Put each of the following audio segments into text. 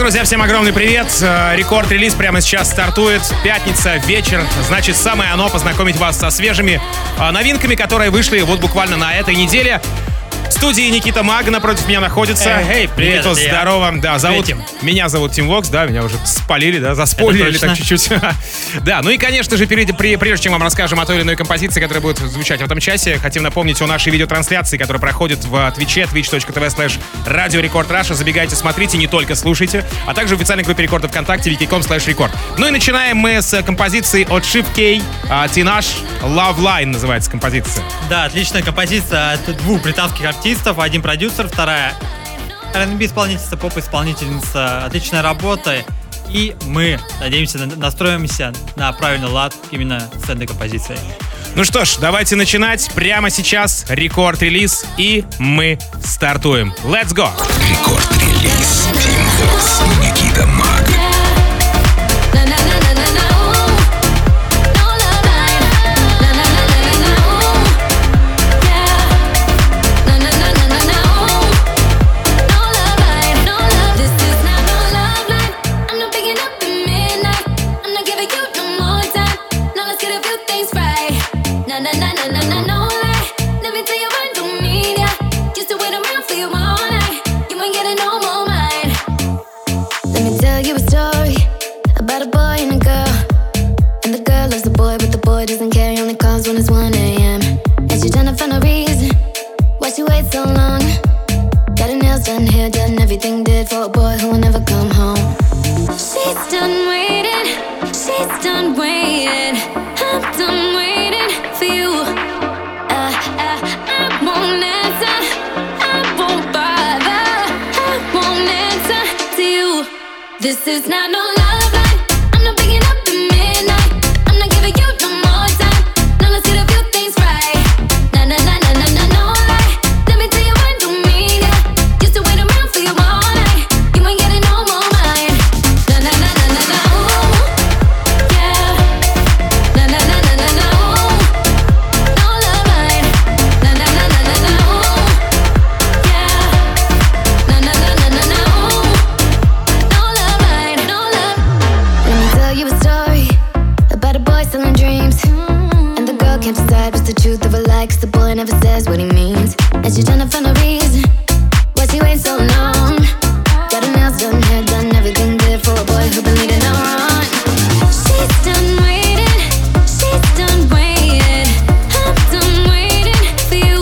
друзья, всем огромный привет. Рекорд-релиз прямо сейчас стартует. Пятница, вечер. Значит, самое оно познакомить вас со свежими новинками, которые вышли вот буквально на этой неделе. В студии Никита Маг напротив меня находится. Привет, Никита, здорово. Да, меня зовут Тим Вокс, да, меня уже спалили, да, заспойлерили так чуть-чуть. Да, ну и, конечно же, прежде чем вам расскажем о той или иной композиции, которая будет звучать в этом часе, хотим напомнить о нашей видеотрансляции, которая проходит в Твиче, twitch.tv/Радио Рекорд Раша. Забегайте, смотрите, не только слушайте, а также в официальной группе Рекорда ВКонтакте wiki.com/рекорд. Ну и начинаем мы с композиции от Shiv K, Tinashe, Love Line называется композиция. Да, отличная композиция от двух британских артистов, один продюсер, вторая R&B-исполнительница, поп-исполнительница. Отличная работа, и мы, надеемся, настроимся на правильный лад именно с этой композицией. Ну что ж, давайте начинать. Прямо сейчас рекорд-релиз, и мы стартуем. Let's go! Рекорд-релиз. Тим Вокс, Никита Маг. This is not no love line. I'm not picking up the midnight. I'm not giving you no more time. Now let's get a few things right. Na na na na na na no lie. Let me tell you what I don't mean ya. Used to wait around for you all night. You ain't getting no more mine. Na na na na na na ooh, yeah. Na na na na na na ooh, no love line. Na na na na na na ooh, yeah. Na na na na na na ooh. Can't decide what's the truth of a lie, 'cause the boy never says what he means. And she's trying to find a reason why she waits so long. Got her nails done, hair done, everything good for a boy who been leading her on. She's done waiting, she's done waiting. I'm done waiting for you.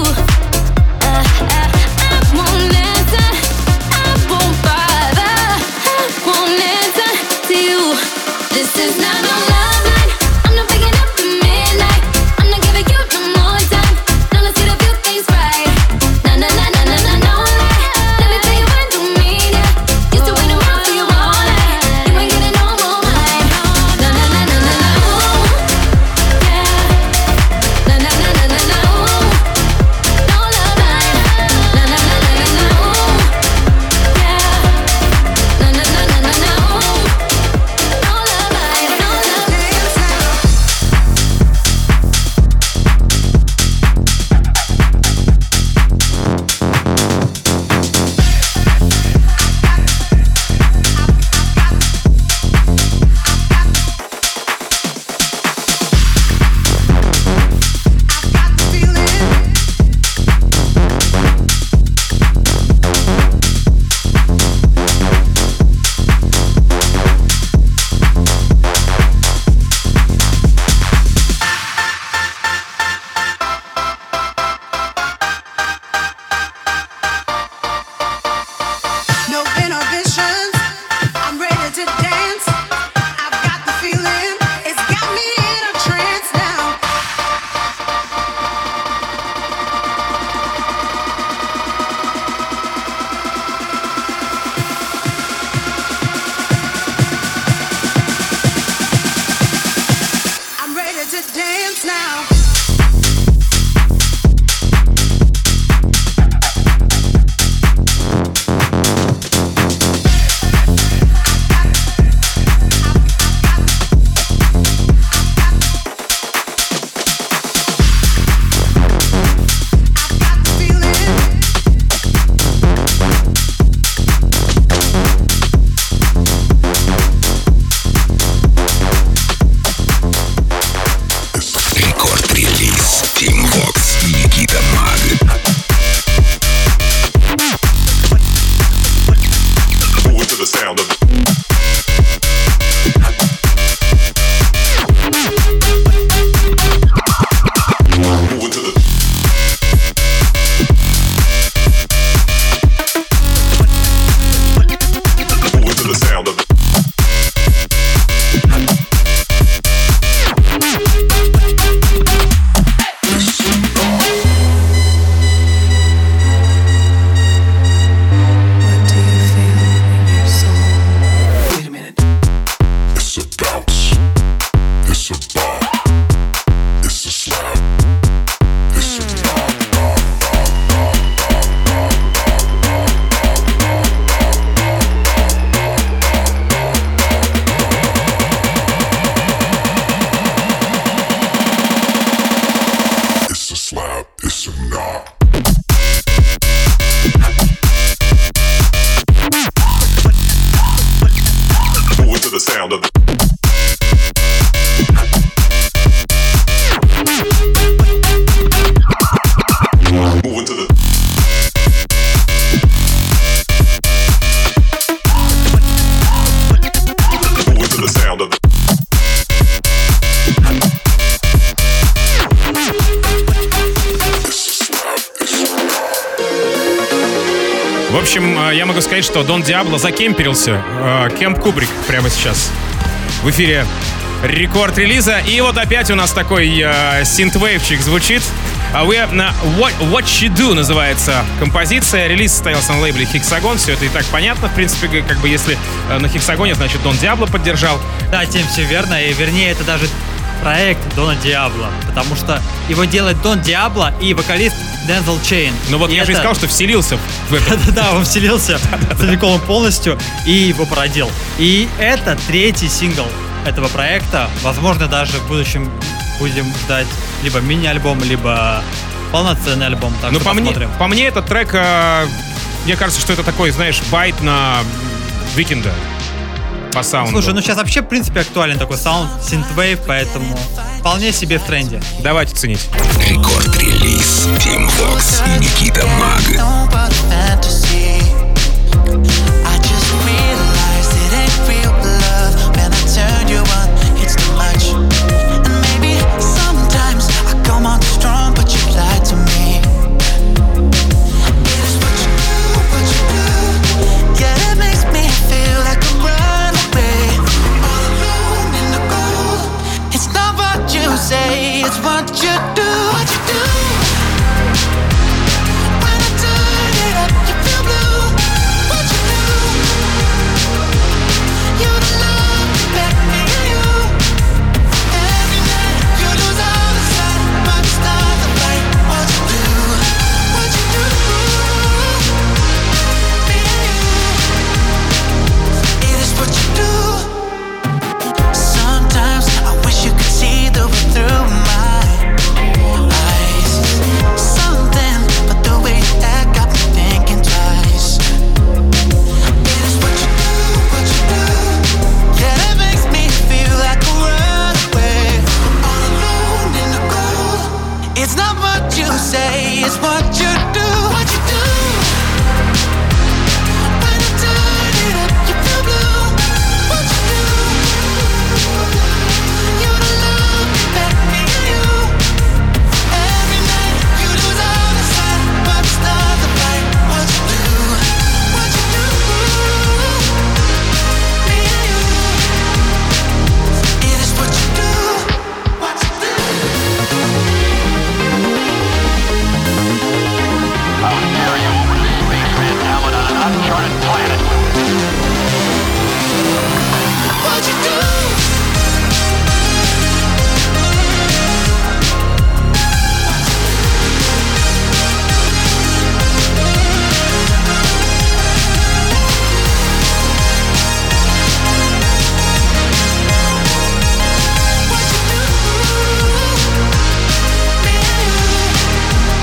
I won't answer, I won't bother, I won't answer to you. This is not no love line. I'm not picking up the midnight. Now let's get a few things right. Na na na na na na no lie. Let me tell you В общем, я могу сказать, что Дон Диабло закемперился. Кемп Кубрик прямо сейчас в эфире рекорд релиза. И вот опять у нас такой синтвейвчик звучит. What You Do называется композиция. Релиз состоялся на лейбле Hexagon. Все это и так понятно. В принципе, как бы если на Hexagon, значит Дон Диабло поддержал. Да, Тим, все верно. И вернее, это даже проект Дона Диабло. Потому что его делает Дон Диабло и вокалист Дензел Чейн. Ну вот я же и сказал, что вселился в это. Да, он вселился целиком полностью и его породил. И это третий сингл этого проекта. Возможно, даже в будущем будем ждать либо мини-альбом, либо полноценный альбом. Так ну, что посмотрим. По мне, этот трек, мне кажется, что это такой, знаешь, байт на Weeknd по саунду. Слушай, ну сейчас вообще, в принципе, актуален такой саунд, синтвейв, поэтому вполне себе в тренде. Давайте ценить. Рекорд-релиз Team Vox и Никита Маг. It's what you do, what you do. When I turn it up, you feel blue. What you do? You don't love me back, me and you. Every night you lose all the sight, but it's not the fight. What you do? What you do? Me and you. It is what you do. Sometimes I wish you could see the way through my eyes. Something but the way that got me thinking twice. It is what you do, what you do. Yeah, that makes me feel like a runaway. All alone in the cold. It's not what you say, it's what you do, what you do. When I turn it up, you feel blue. What you do? You don't love me back, me and you. Every night you lose all the sight, but it's not the fight. What you do? What you do? Me and you. It is what you do. What you do? How dare you, spaceman talent on an uncharted planet? What you do?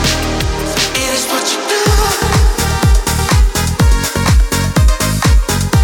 It is what you do.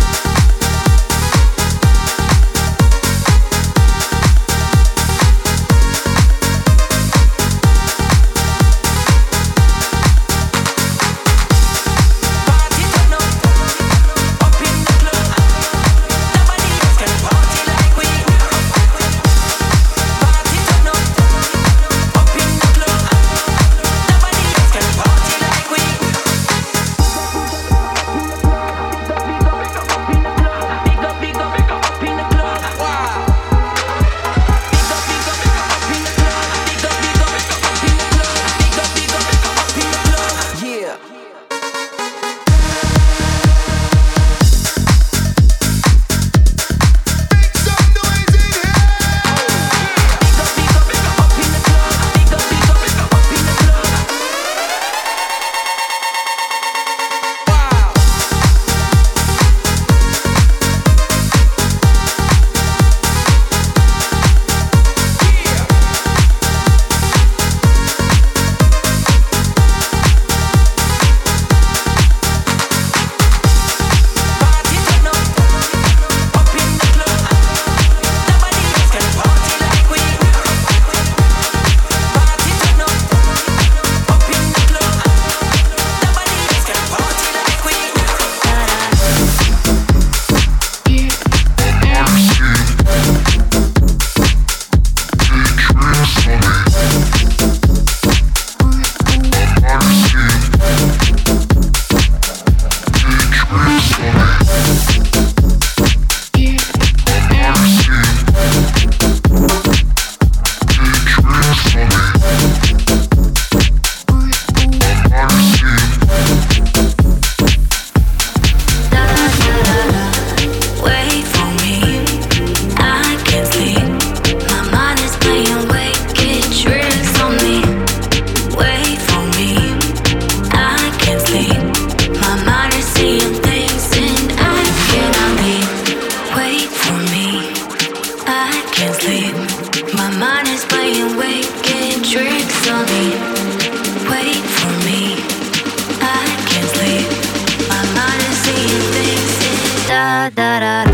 da da da.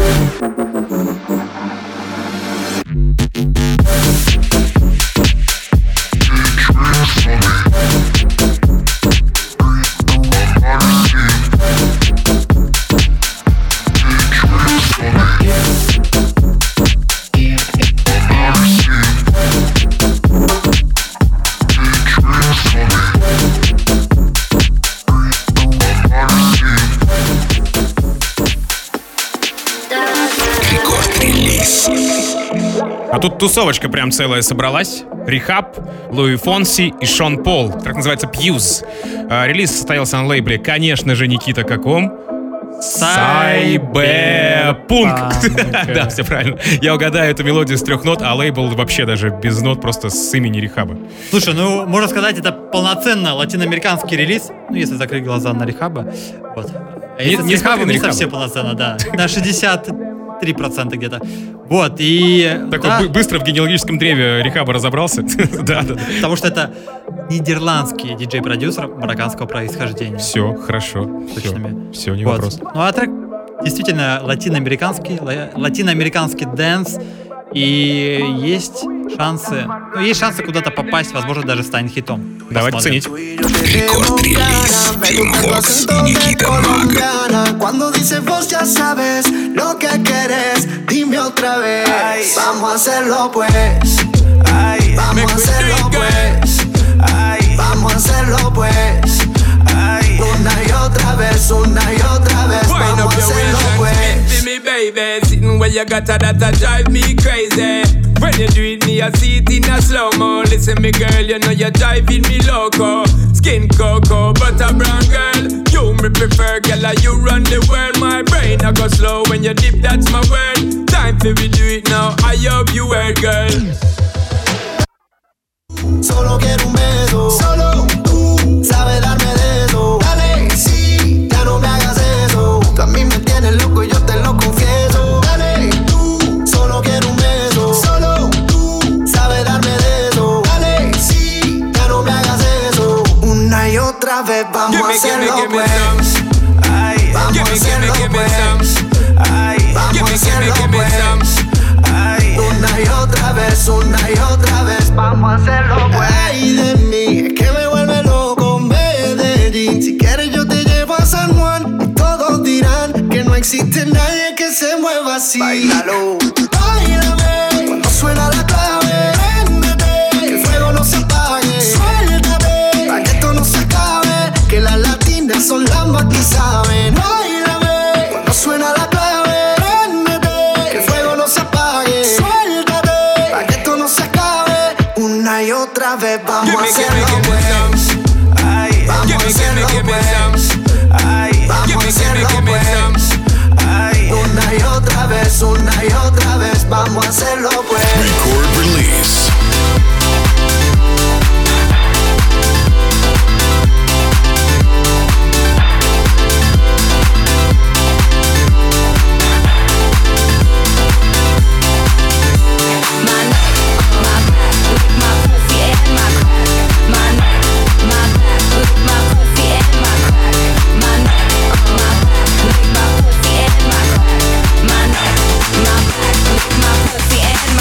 А тут тусовочка прям целая собралась. Рехаб, Луи Фонси и Шон Пол. Трек называется Пьюз. Релиз состоялся на лейбле, конечно же, Никита, каком? Сайбепунк. Да, все правильно. Я угадаю эту мелодию с 3 нот, а лейбл вообще даже без нот, просто с имени Рехаба. Слушай, ну, можно сказать, это полноценно латиноамериканский релиз, ну, если закрыть глаза на Рехаба. Вот. А если Не с Рехабом, смотри на не Рехаба. совсем полноценно, да. На 63% где-то. Вот, и... Такой да, быстро в генеалогическом древе Рехаба разобрался. Да. потому что это нидерландский диджей-продюсер марокканского происхождения. Все, хорошо. Точными. Все, не Вот. вопрос. Ну, а трек действительно латиноамериканский дэнс, и есть шансы куда-то попасть, возможно, даже станет хитом. Давайте Посмотрим. ценить. Рекорд-релиз Team Vox и Никита Маг. Cuando dices vos ya sabes lo que quieres, dime otra vez. Vamos a hacerlo pues. Vamos a hacerlo pues. Vamos a hacerlo pues. Una y otra vez, una y otra vez. Vamos a hacerlo pues. Me baby, sitting where you got that drive me crazy. When you do it, me I see it in a slow-mo. Listen me girl, you know you're driving me loco. Skin cocoa, butter brown girl. You me prefer, girl, like you run the world. My brain I go slow when you dip, that's my word. Time for we do it now, I hope you heard, girl. Solo quiero un beso. Solo tú sabes darme de eso. Dale, sí, ya no me hagas eso. Tú a mí me tienes loco y yo te lo confieso. Dale, tú, solo quiero un beso. Solo tú sabes darme de eso. Dale, sí, ya no me hagas eso. Una y otra vez vamos a hacerlo pues. Vamos a hacerlo pues. Vamos a hacerlo pues. Una y otra vez, vamos a hacerlo pues. Ay de mí, es que me vuelve loco Medellín. Si quieres yo te llevo a San Juan y todos dirán que no existe nadie que se mueva así. Báilalo, báilame, cuando suena la clave, préndete, que el fuego no se apague. Suéltate, para que esto no se acabe, que las latinas son las más que saben. Báilame, cuando suena la clave, préndete, que el fuego no se apague. Suéltate, para que esto no se acabe. Una y otra vez vamos a hacerlo pues. Vamos a hacerlo pues. Vamos a hacerlo pues. Una y otra vez vamos a hacerlo pues. Record release. My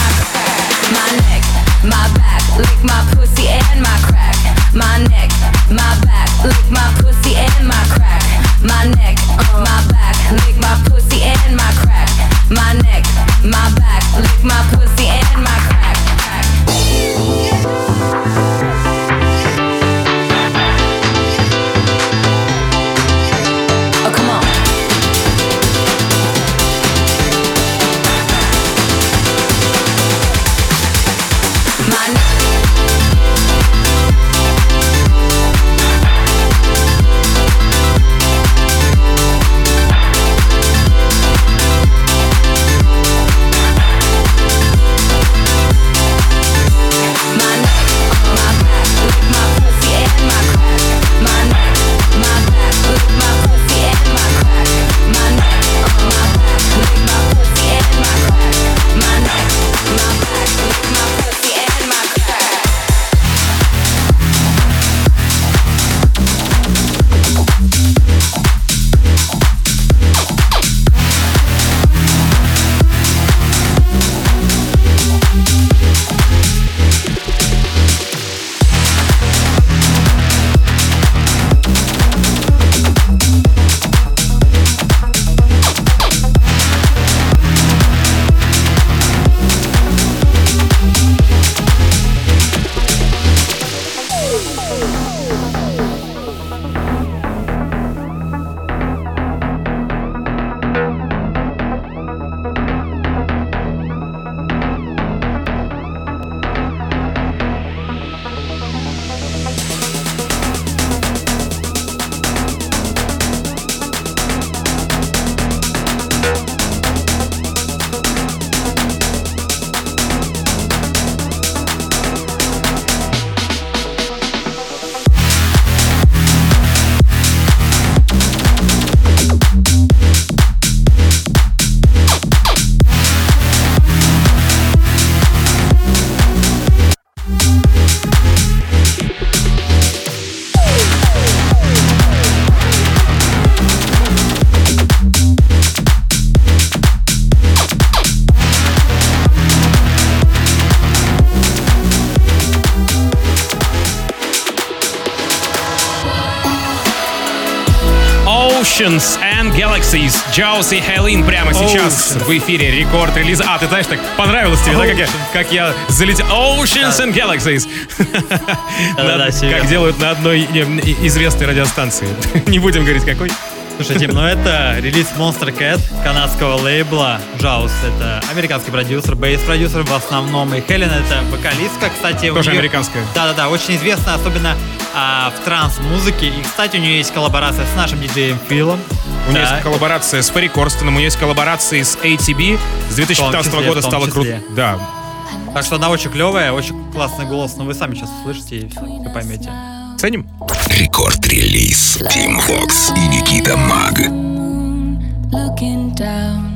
Oceans and Galaxies. Джаус и Хейлин прямо сейчас в эфире. Рекорд релиза. Ты знаешь, так понравилось тебе, да, как я залетел. Oceans and Galaxies. Как делают на одной известной радиостанции. Не будем говорить, какой. Слушай, Тим, это релиз Monster Cat, канадского лейбла. Джаус — это американский продюсер, бейс-продюсер в основном. И Хелен — это вокалистка, кстати. Тоже американская. Да, очень известна, особенно в транс-музыке. И, кстати, у нее есть коллаборация с нашим диджеем Филом. У нее есть коллаборация с Ферри Корстоном, у нее есть коллаборации с ATB. С 2015 года стало круто. Да. Так что она очень клевая, очень классный голос. Но вы сами сейчас услышите и все, вы поймете. Ценим. Рекорд-релиз Team Vox и Никита Маг. Looking down,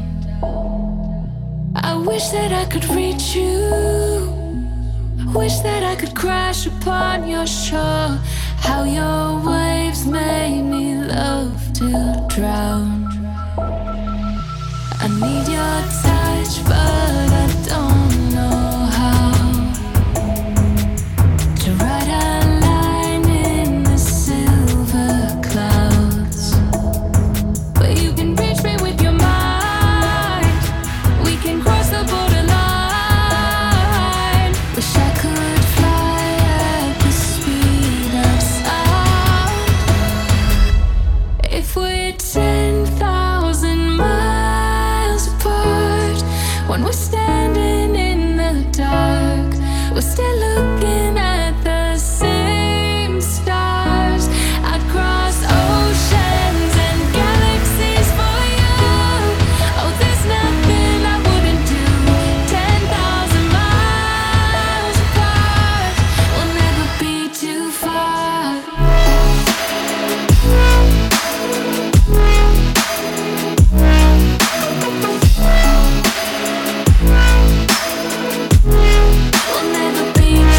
I wish that I could reach you. Wish that I could crash upon your shore. How your waves made me love to drown. I need your touch, but I don't know how to write a line in the silver clouds. But you can reach me with your mind. We can cross the borderline. Wish I could fly at the speed of sound. If we're 10,000 miles apart, when we're standing in the dark, we're still looking at the same stars. I'd cross oceans and galaxies for you. Oh, there's nothing I wouldn't do. 10,000 miles apart, we'll never be too far. We'll never be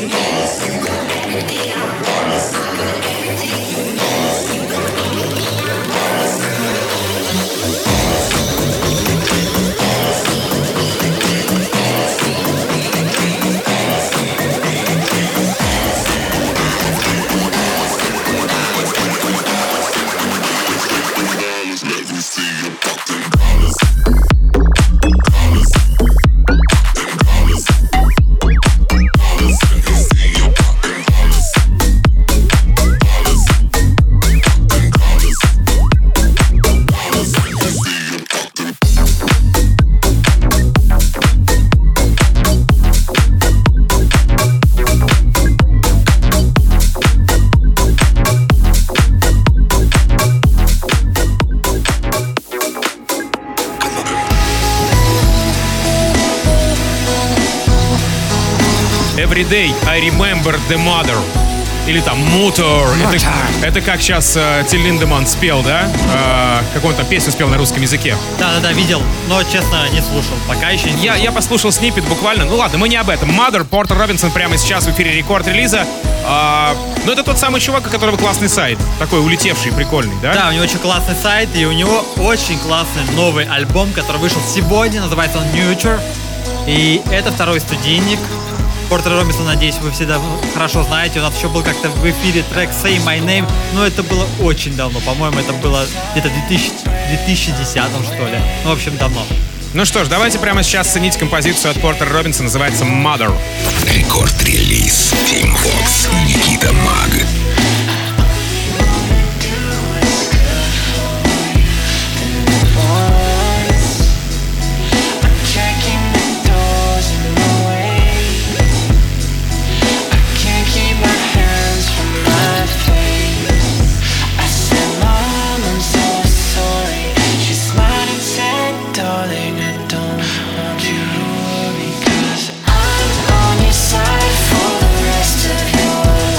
Every day I remember the mother. Или там Motor. Это как сейчас Тиль Линдеманн спел, да? Как он там песню спел на русском языке. Да, видел, но, честно, не слушал. Пока еще не слушал. Я послушал сниппет буквально. Ну ладно, мы не об этом. Mother, Портер Робинсон прямо сейчас в эфире рекорд-релиза. Но это тот самый чувак, у которого классный сайт. Такой улетевший, прикольный, да? Да, у него очень классный сайт, и у него очень классный новый альбом, который вышел сегодня. Называется он Nurture. И это второй студийник Портер Робинсон, надеюсь, вы все хорошо знаете. У нас еще был как-то в эфире трек Say My Name, но это было очень давно. По-моему, это было где-то в 2010, что ли. Ну, в общем, давно. Ну что ж, давайте прямо сейчас ценить композицию от Портера Робинсона, называется Mother. Рекорд-релиз Team Vox и Никита Маг. I'm on your side for the rest of your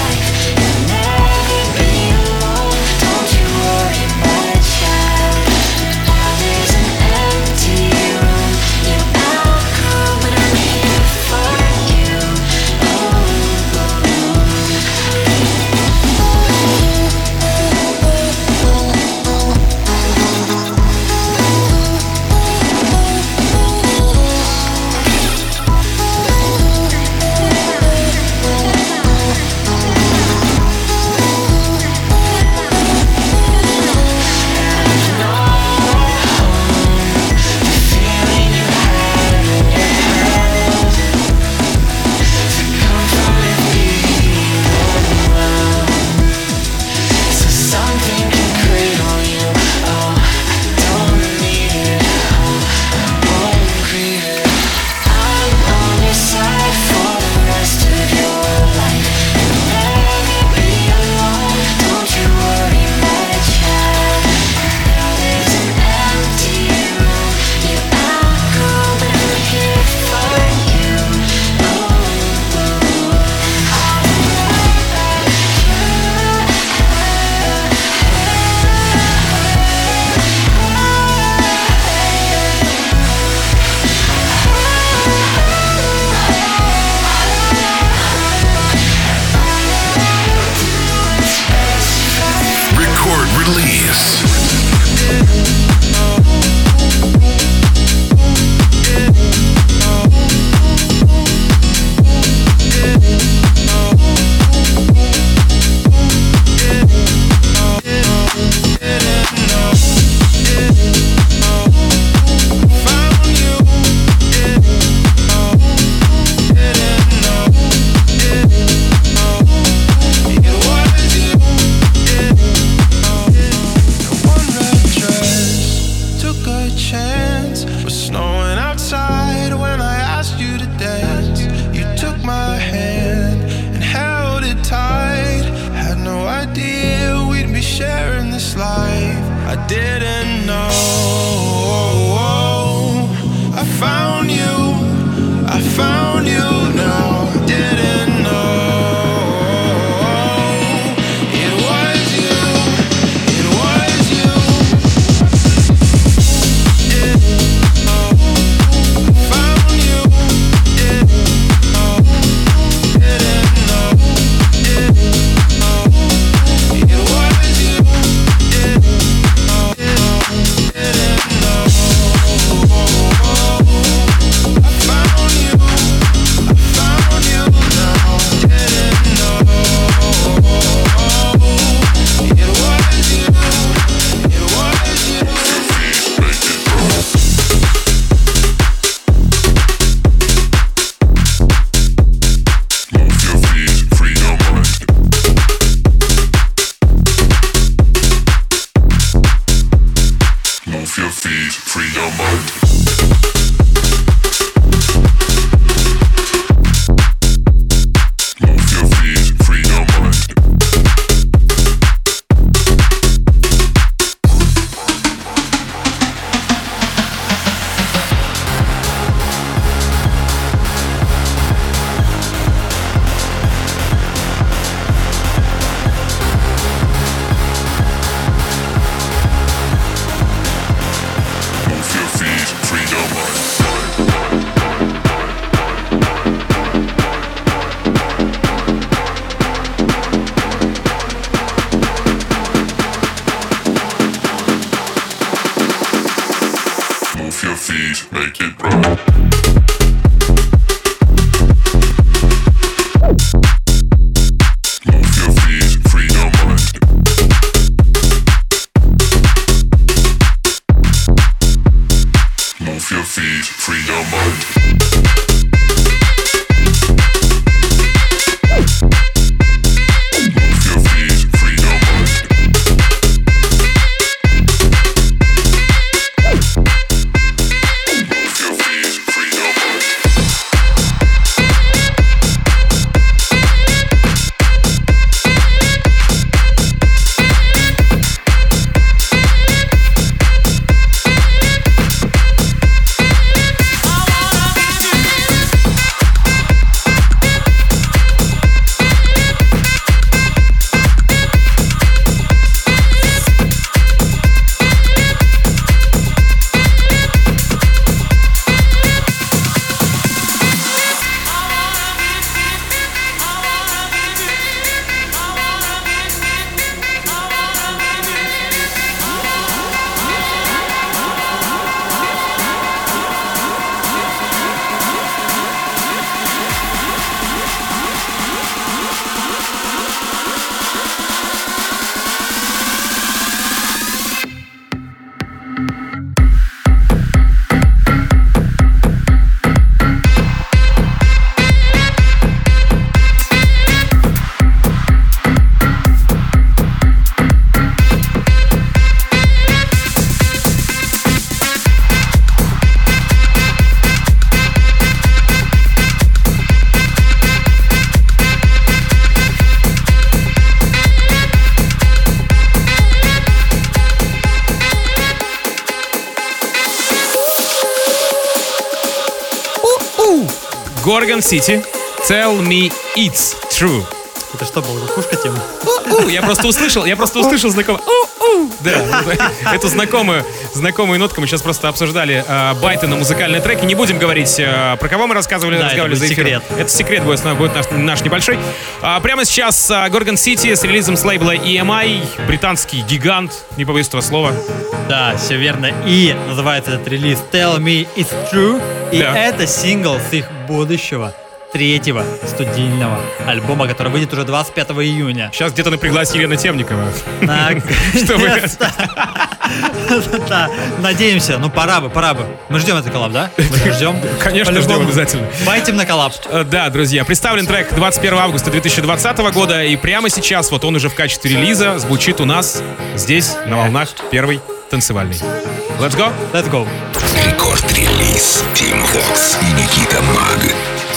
Gorgon City, Tell Me It's True. Это что было, кукушка тема? Я просто услышал знакомый. Да, эту знакомую нотку мы сейчас просто обсуждали байты на музыкальные треки. Не будем говорить, про кого мы разговаривали это за эфиром. секрет. Это секрет будет наш небольшой. Прямо сейчас Gorgon City с релизом с лейбла EMI, британский гигант, не побоюсь этого слова. Да, все верно. И называется этот релиз Tell Me It's True. И Да. это сингл с их будущего третьего студийного альбома, который выйдет уже 25 июня. Сейчас где-то напряглась Елена Темникова. Наконец-то. Да, надеемся. Ну, пора бы. Мы ждем этот коллаб, да? Мы же ждем. Конечно, ждем По-любому. обязательно. Байтим на коллаб. Да, друзья, представлен трек 21 августа 2020 года, и прямо сейчас вот он уже в качестве релиза звучит у нас здесь, на волнах первой танцевальной. Let's go! Let's go. Рекорд-релиз Team Vox и Никита Маг.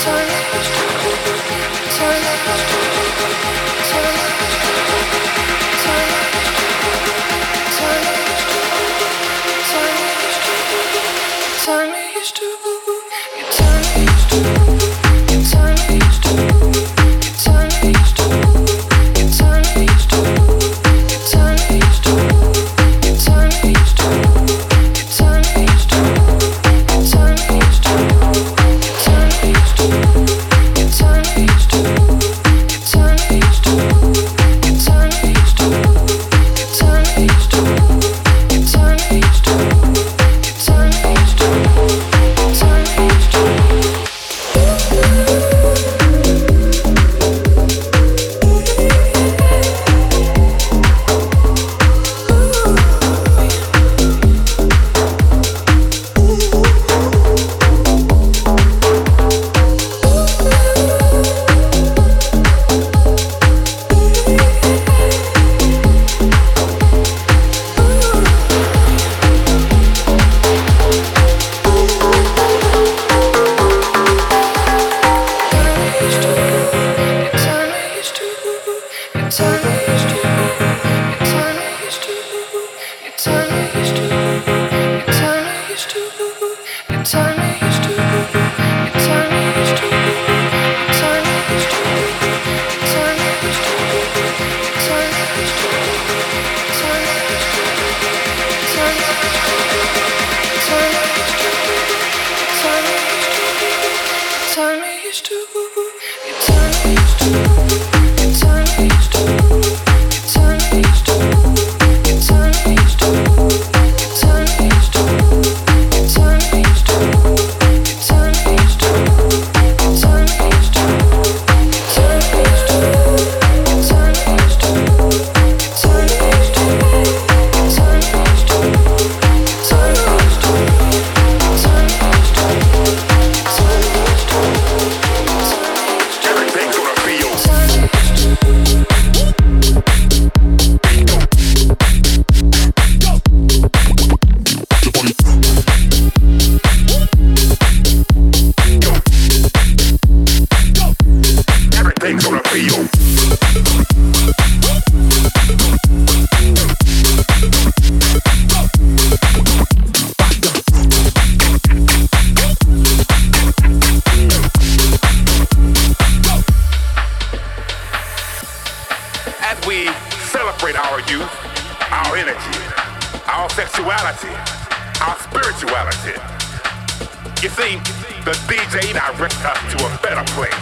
You see, the DJ directs us to a better place.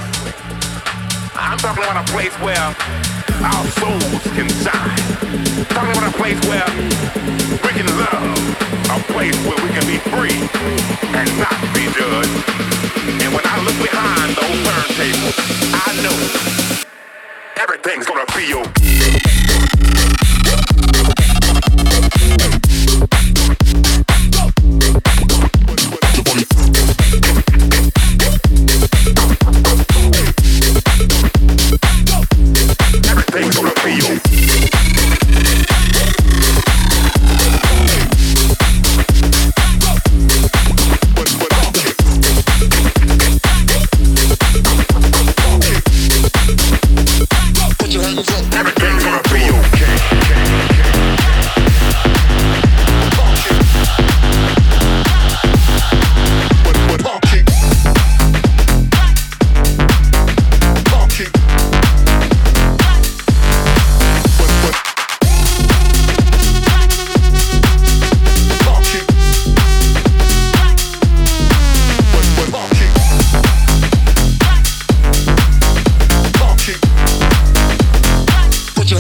I'm talking about a place where our souls can shine. Talking about a place where we can love. A place where we can be free and not be judged. And when I look behind those turntables, I know everything's gonna be okay. Put your hands up. Everything's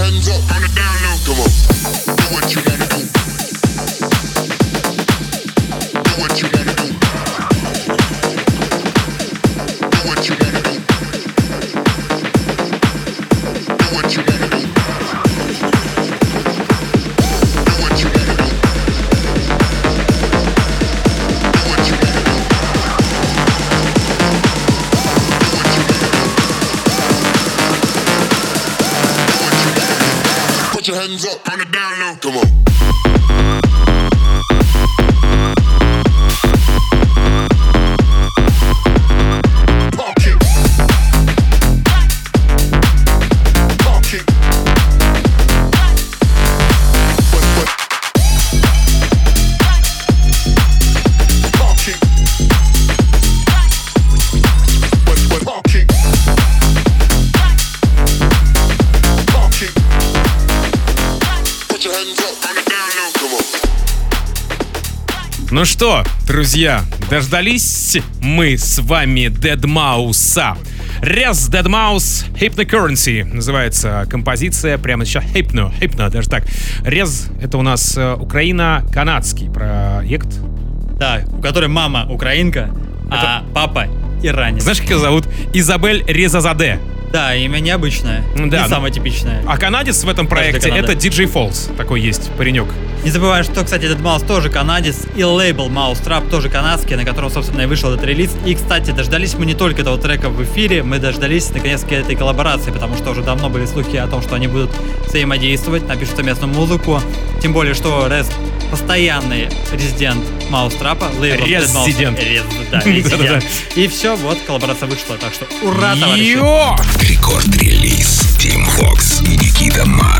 hands up on the down low. Come on. Do what you wanna do. Do what you wanna do. Do what you wanna do. Do what you wanna do. Do what you wanna do. Do what you wanna do. Put your hands up on the down low. Come on. Park it. Park it. What? Park it. What? Park it. Park it. Put your hands up on the down low. Come on. Ну что, друзья, дождались мы с вами Deadmau5. Rez Deadmau5 Hypnocurrency называется композиция прямо сейчас. Hypno, даже так. Rez — это у нас Украина-канадский проект. Да, у которой мама украинка, а папа иранец. Знаешь, как ее зовут? Изабель Резазаде. Да, имя необычное, Да. не самое типичное. А канадец в этом проекте — Канада. это DJ Falls. Такой есть паренек. Не забывай, что, кстати, этот Маус тоже канадец, и лейбл Mousetrap тоже канадский, на котором, собственно, и вышел этот релиз. И, кстати, дождались мы не только этого трека в эфире, мы дождались, наконец-таки, этой коллаборации, потому что уже давно были слухи о том, что они будут взаимодействовать, напишут совместную музыку. Тем более, что Rez постоянный резидент Mousetrap, лейбл Резидент. Да, резидент. И все, вот, коллаборация вышла, так что ура, товарищи! Йо! Рекорд-релиз Team Vox и Никита Маг.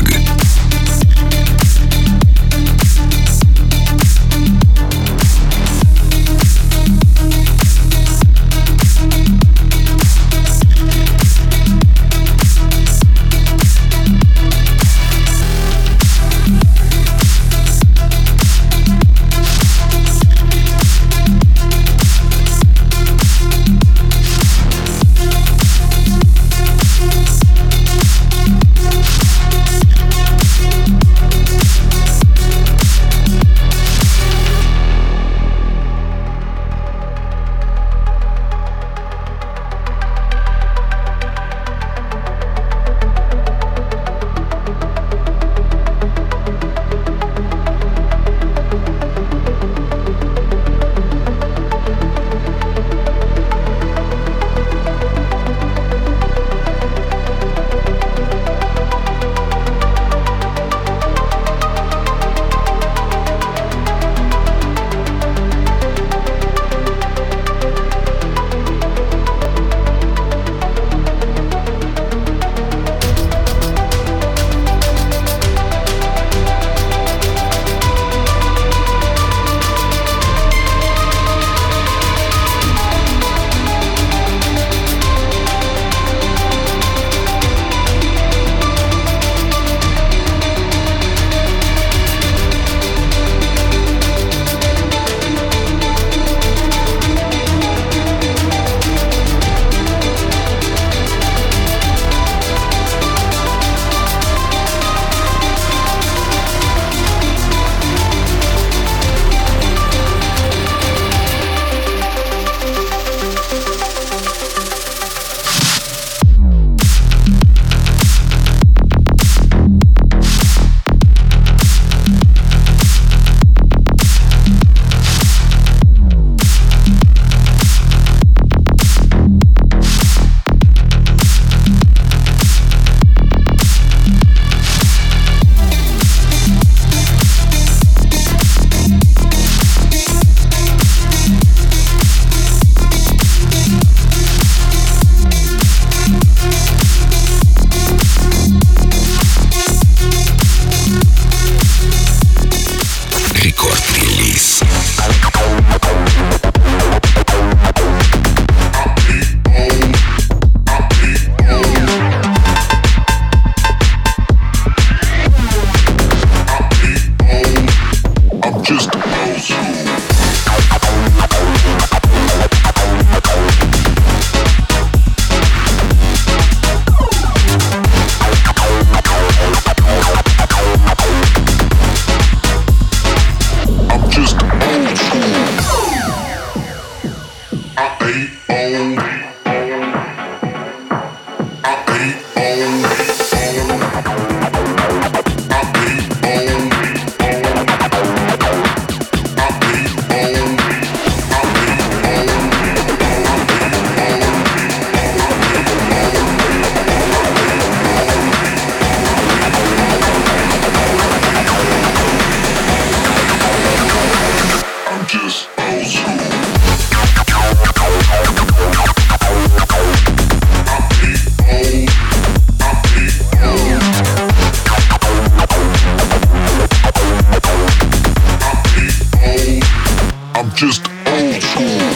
just old school.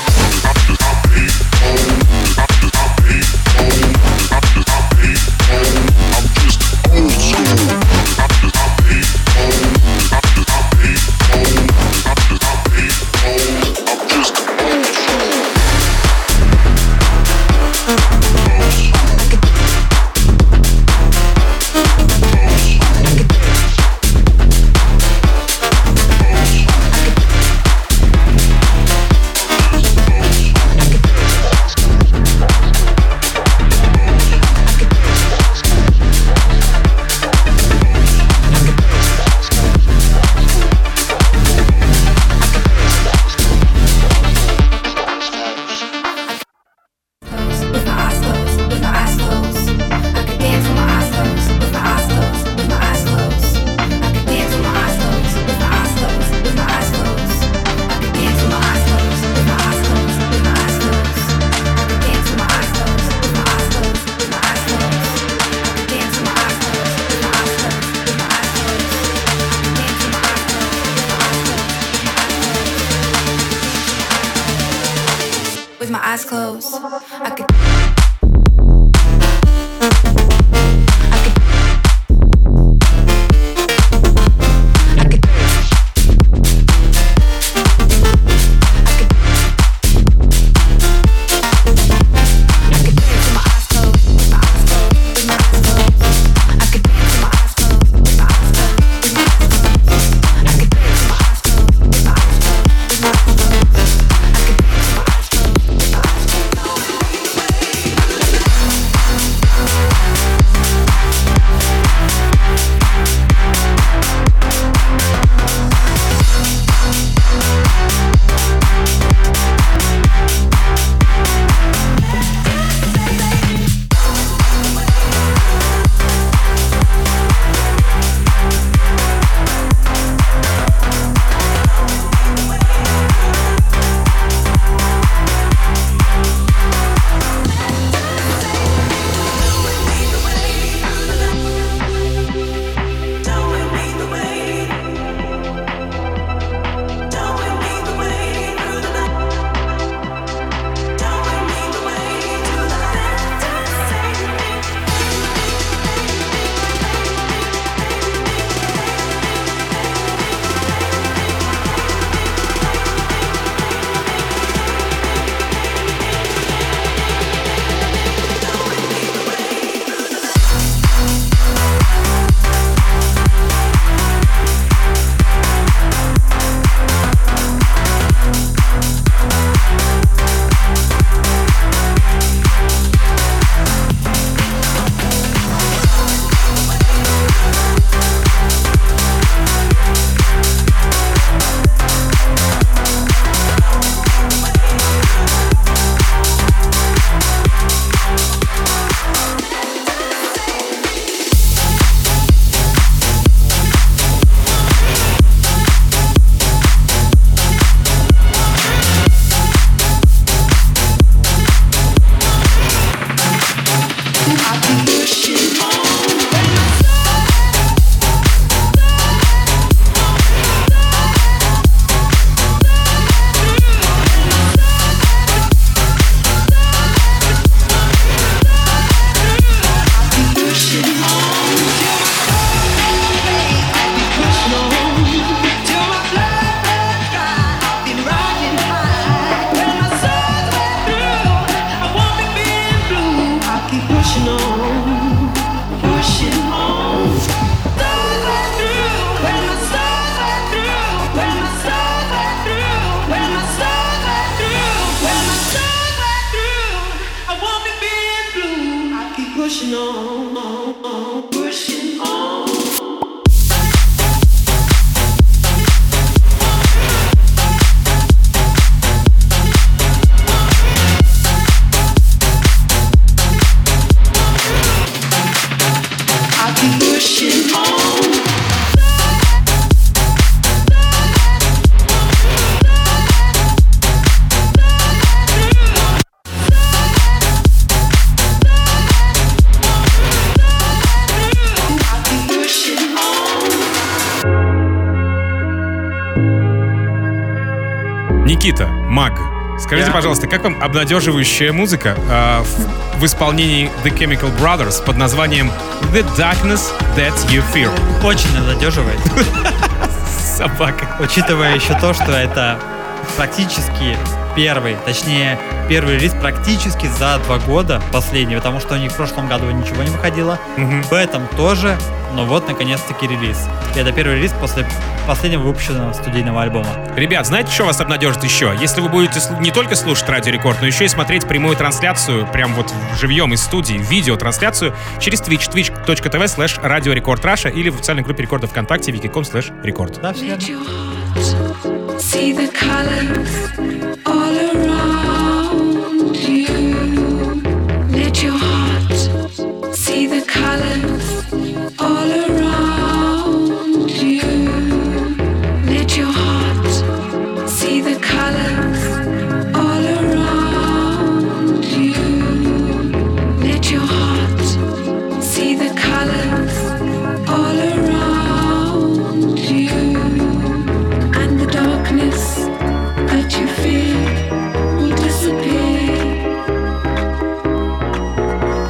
Никита, Маг, скажите, пожалуйста, как вам обнадеживающая музыка в исполнении The Chemical Brothers под названием The Darkness That You Fear? Очень обнадеживает. Собака. Учитывая еще то, что это практически первый релиз практически за 2 года последний, потому что у них в прошлом году ничего не выходило. В этом тоже, но вот наконец-таки релиз. И это первый релиз после последнего выпущенного студийного альбома. Ребят, знаете, что вас обнадежит еще? Если вы будете не только слушать Радио Рекорд, но еще и смотреть прямую трансляцию, прям вот живьем из студии, видеотрансляцию через Twitch, twitch.tv/Radio Record Russia или в официальной группе рекорда ВКонтакте wiki.com/record. Да, все верно. See the colors all around you. Let your heart see the colors all around you. Let your heart see the colors all around you. Let your heart see the colors all around you. And the darkness that you fear will disappear.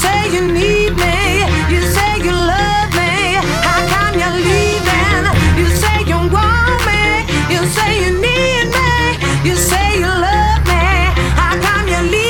say you need me, you say you love me. How come you're leaving? You say you want me, you say you need me, you say you love me. How come you're leaving?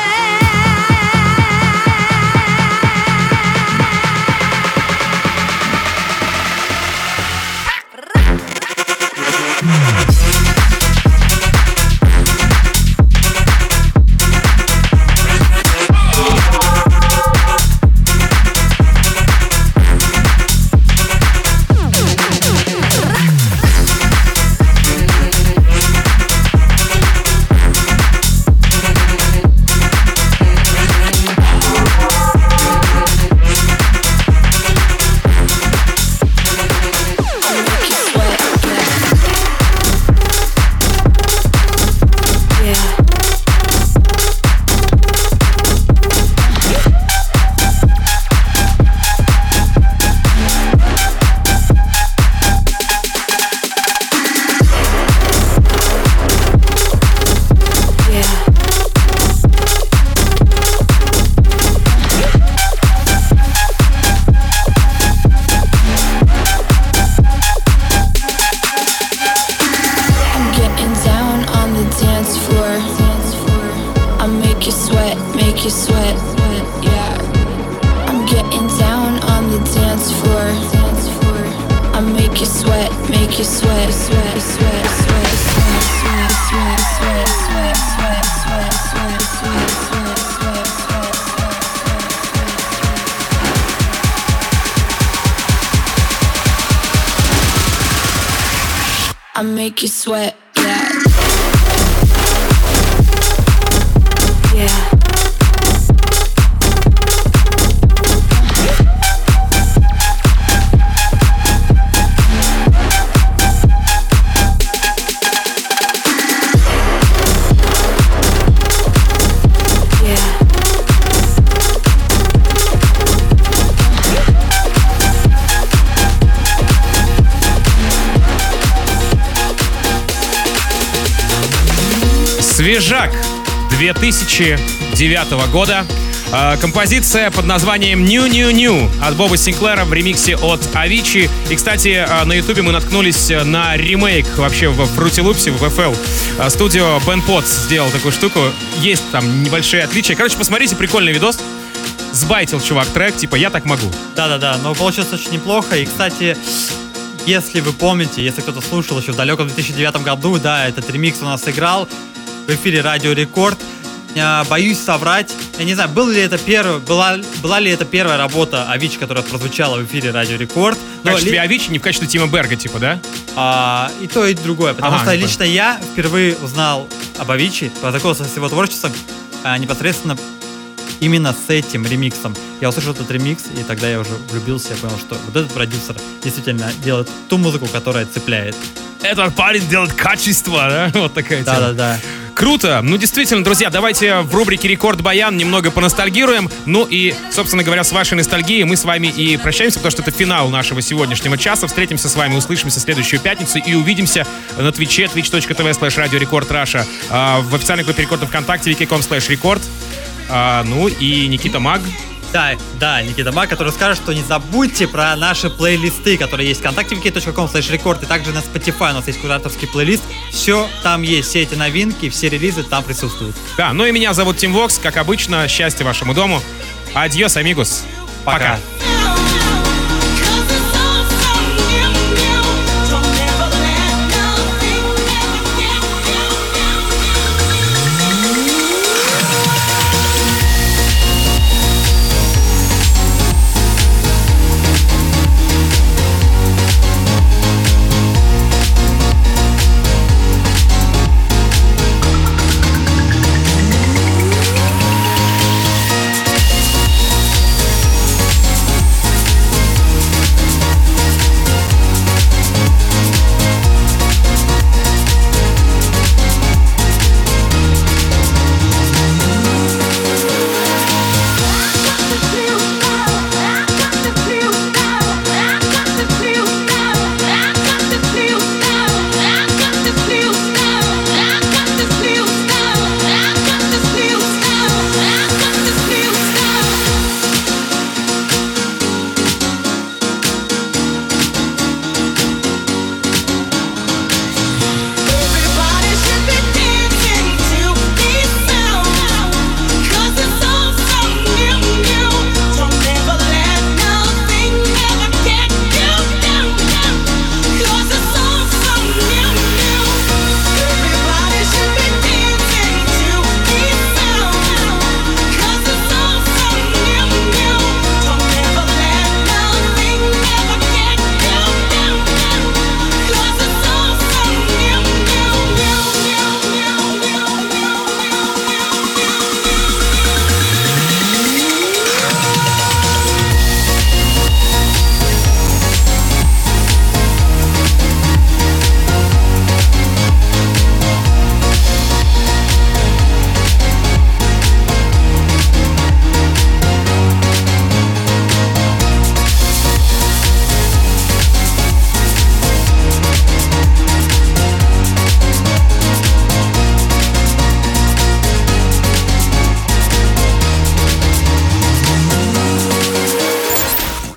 I make you sweat, yeah. Yeah. Свежак 2009 года. Композиция под названием New New New от Боба Синклера в ремиксе от Avicii. И, кстати, на ютубе мы наткнулись на ремейк вообще в Fruity Loops'е, в FL. Студио Ben Potts сделал такую штуку. Есть там небольшие отличия. Короче, посмотрите, прикольный видос. Сбайтил чувак трек, типа «Я так могу». Да-да-да, но получилось очень неплохо. И, кстати, если вы помните, если кто-то слушал еще в далеком 2009 году, да, этот ремикс у нас играл в эфире Радио Рекорд. Боюсь соврать. Я не знаю, была ли это первая работа Avicii, которая прозвучала в эфире Радио Рекорд. В качестве Avicii, не в качестве Тима Берга, типа, да? И то, и другое. Потому что лично я впервые узнал об Avicii, познакомился с его творчеством непосредственно именно с этим ремиксом. Я услышал этот ремикс, и тогда я уже влюбился, я понял, что вот этот продюсер действительно делает ту музыку, которая цепляет. Этот парень делает качество, да? Вот такая тема. Да-да-да. Круто. Ну, действительно, друзья, давайте в рубрике «Рекорд Баян» немного поностальгируем. Ну и, собственно говоря, с вашей ностальгией мы с вами и прощаемся, потому что это финал нашего сегодняшнего часа. Встретимся с вами, услышимся в следующую пятницу и увидимся на Твиче, twitch.tv/radiorecord.russia, в официальной группе Рекорда ВКонтакте, wiki.com/record. Ну и Никита Маг. Да, Никита Маг, который скажет, что не забудьте про наши плейлисты, которые есть в ВКонтакте, wiki.com/record, и также на Spotify у нас есть кураторский плейлист. Все там есть, все эти новинки, все релизы там присутствуют. Да, ну и меня зовут Тим Вокс, как обычно, счастья вашему дому. Адьос, амигос. Пока.